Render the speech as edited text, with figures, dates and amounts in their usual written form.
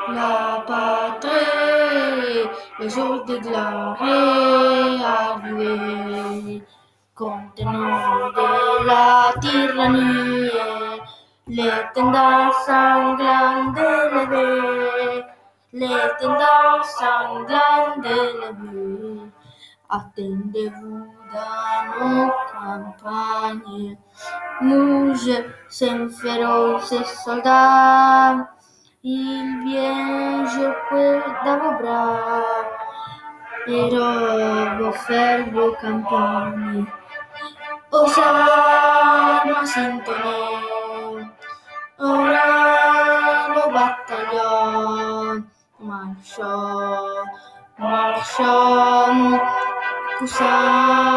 La patrie, le jours déclarés arrivés, contenant de la tyrannie, les tendances sanglantes élevées, les tendances sanglantes élevées. Attendez-vous dans nos campagnes, mouches sans féroces soldats. Il vient jouer dans vos bras, et vos faire vos campagnes. Aux armes intonnées, ora le bataillon, marchons, marchons, cousin.